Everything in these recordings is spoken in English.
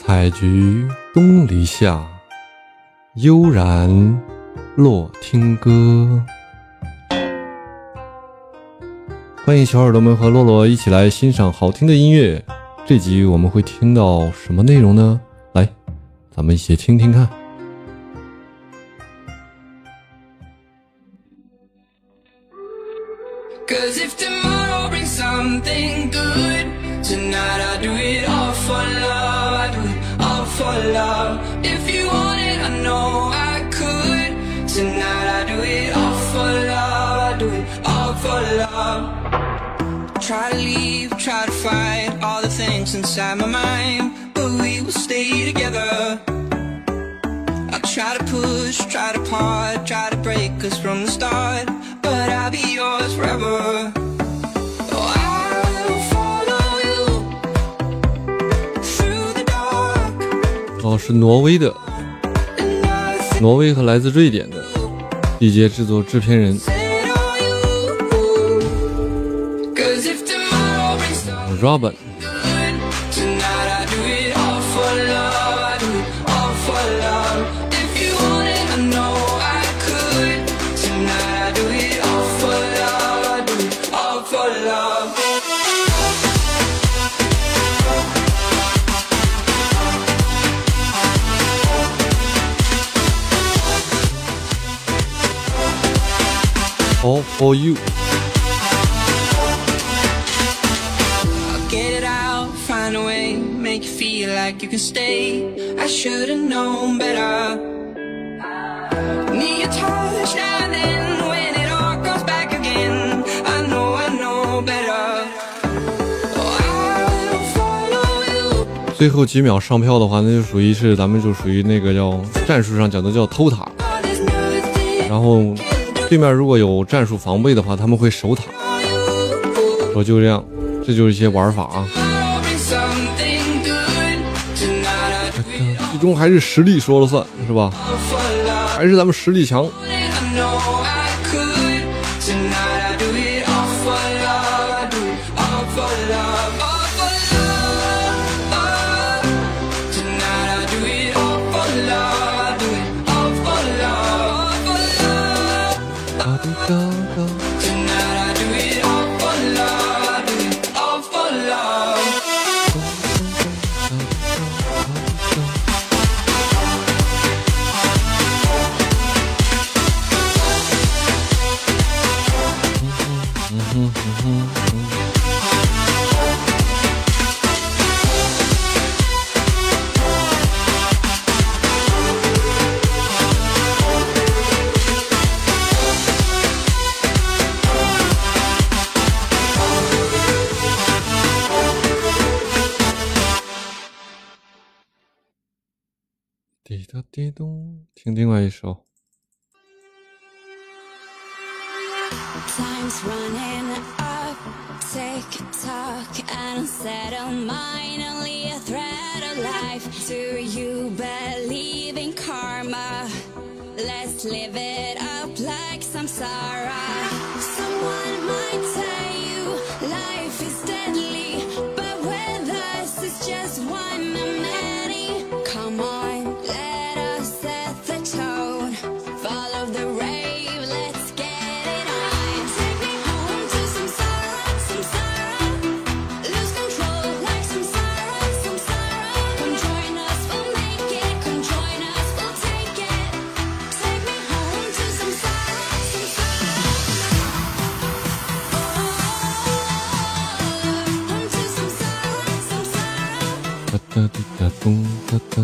采菊东篱下，悠然落听歌。欢迎小耳朵们和洛洛一起来欣赏好听的音乐。这集我们会听到什么内容呢？来，咱们一起听听看。 Cause if tomorrow brings something good, tonight I do it all for love, I do it all for love. If you want it, I know I could. Tonight I do it all for love, I do it all for love. Try to leave, try to fight all the things inside my mind, but we will stay together. I'll try to push, try to part, try to break us from the start, but I'll be yours forever. Oh, I'll follow you through the dark. 是挪威的，挪威和来自瑞典的缔结制作制片人 Robin。All for you. I'll get it out, find a way, make you feel like you can stay. I should've known better. Need your touch and then when it all comes back again, I know better. Oh, I'll follow you. 最后几秒上票的话，那就属于是咱们就属于那个叫战术上讲的叫偷塔，然后对面如果有战术防备的话，他们会守塔。说就这样，这就是一些玩法啊。最终还是实力说了算，是吧？还是咱们实力强。滴答滴咚，听另外一首。 Time's running up, take a talk, an unsettled mind, only a thread of life. Do you believe in karma? Let's live it up like samsara. Someone might tell you life is deadly, but with us it's just one of many. Come on, let us set the tone, follow the rave, let's get it on. Take me home to samsara, lose control like samsara. Come join us, we'll make it, come join us, we'll take it. Take me home to samsara. Home to samsara. 哒哒滴答咚哒哒。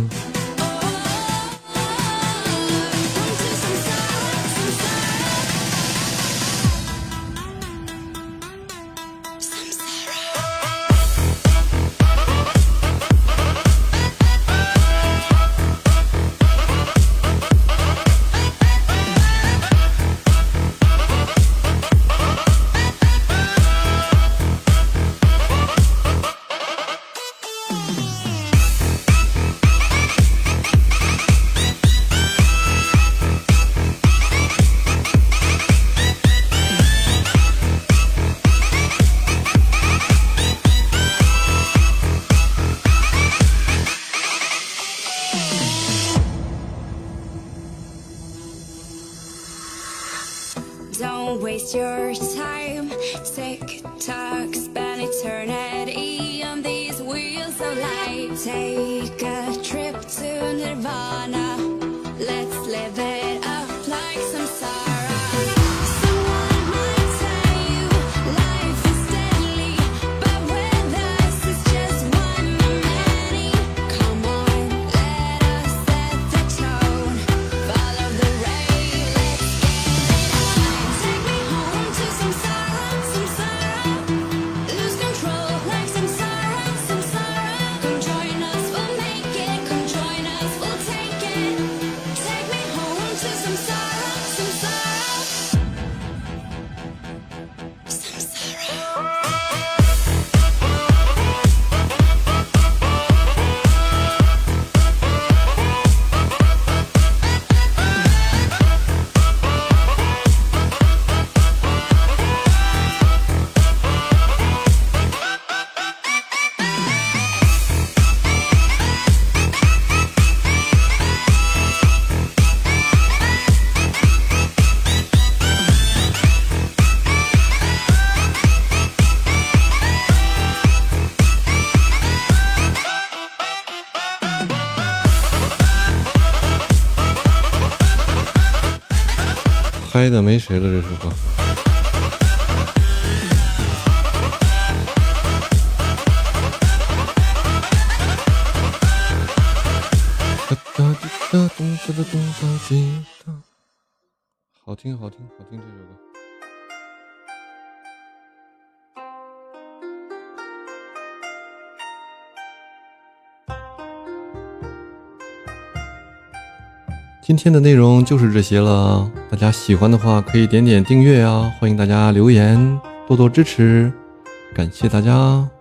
waste your time. Tick tock, spend eternity on these wheels of life. Take a trip to Nirvana. Let's live it up like samsara. Someone might tell you life is deadly, but with us it's just one of many. Come on, let us set the tone. Follow the rain, let's get it on. Take me home to samsara, samsara. Lose control like samsara, samsara. Come join us, we'll make it. Come join us, we'll take it. Take me home to samsara, samsara. Samsara. 嗨的没谁了，这首歌。好听，好听，好听这首歌。今天的内容就是这些了，大家喜欢的话可以点点订阅啊，欢迎大家留言，多多支持，感谢大家。